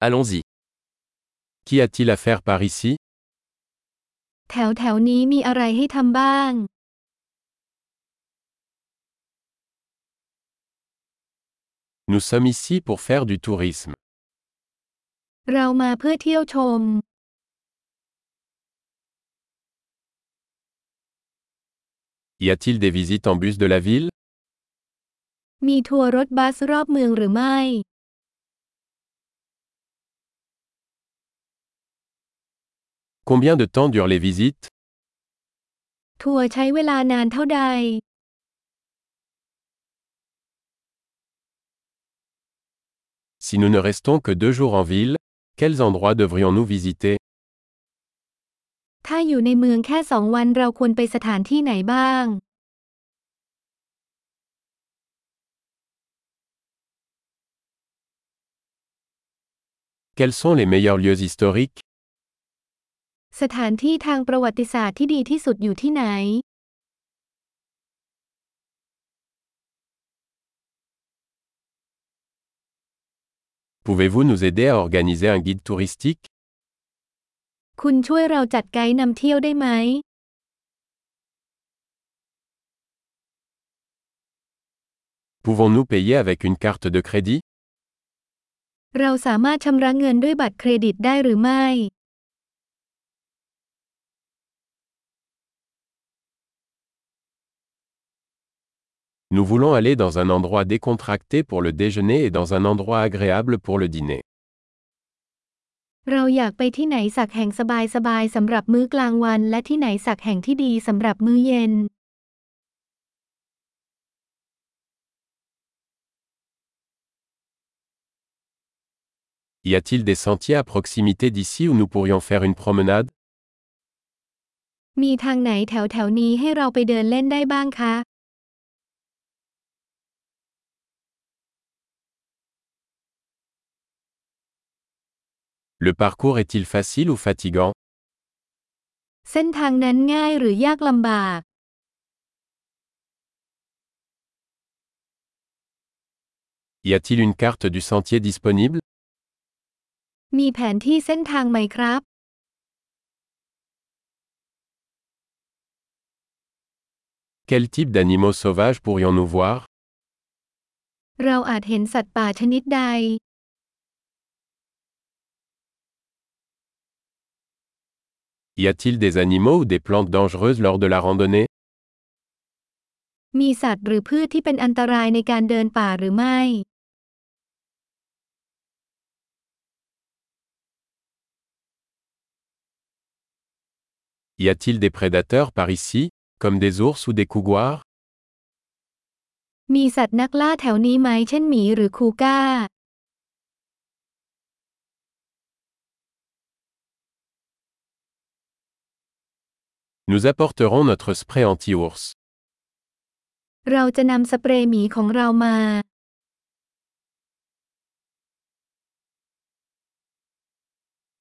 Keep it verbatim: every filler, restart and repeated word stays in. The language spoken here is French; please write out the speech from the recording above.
Allons-y. Qu'y a-t-il à faire par ici? แถวแถวนี้มีอะไรให้ทำบ้าง Nous sommes ici pour faire du tourisme. เรามาเพื่อเที่ยวชม Y a-t-il des visites en bus de la ville? มีทัวร์รถบัสรอบเมืองหรือไม่ Combien de temps durent les visites? ทัวร์ใช้เวลานานเท่าใด Si nous ne restons que deux jours en ville, quels endroits devrions-nous visiter? ถ้าอยู่ในเมืองแค่สองวันเราควรไปสถานที่ไหนบ้าง Quels sont les meilleurs lieux historiques? สถานที่ทางประวัติศาสตร์ที่ดีที่สุดอยู่ที่ไหน Pouvez-vous nous aider à organiser un guide touristique? คุณช่วยเราจัดไกด์นำเที่ยวได้ไหม Pouvons-nous payer avec une carte de crédit? เราสามารถชำระเงินด้วยบัตรเครดิตได้หรือไม่ Nous voulons aller dans un endroit décontracté pour le déjeuner et dans un endroit agréable pour le dîner. เราอยากไปที่ไหนสักแห่งสบายๆสำหรับมื้อกลางวันและที่ไหนสักแห่งที่ดีสำหรับมื้อเย็น Y a-t-il des sentiers à proximité d'ici où nous pourrions faire une promenade? มีทางไหนแถวๆนี้ให้เราไปเดินเล่นได้บ้างคะ Le parcours est-il facile ou fatigant? เส้นทางนั้นง่ายหรือยากลำบาก Y a-t-il une carte du sentier disponible? มีแผนที่เส้นทางไหมครับ Quel type d'animaux sauvages pourrions-nous voir? เราอาจเห็นสัตว์ป่าชนิดใด Y a-t-il des animaux ou des plantes dangereuses lors de la randonnée? มีสัตว์หรือพืชที่เป็นอันตรายในการเดินป่าหรือไม่ Y a-t-il des prédateurs par ici, comme des ours ou des couguars? มีสัตว์นักล่าแถวนี้ไหมเช่นหมีหรือคูก้า Nous apporterons notre spray anti-ours. เราจะนำสเปรย์หมีของเรามา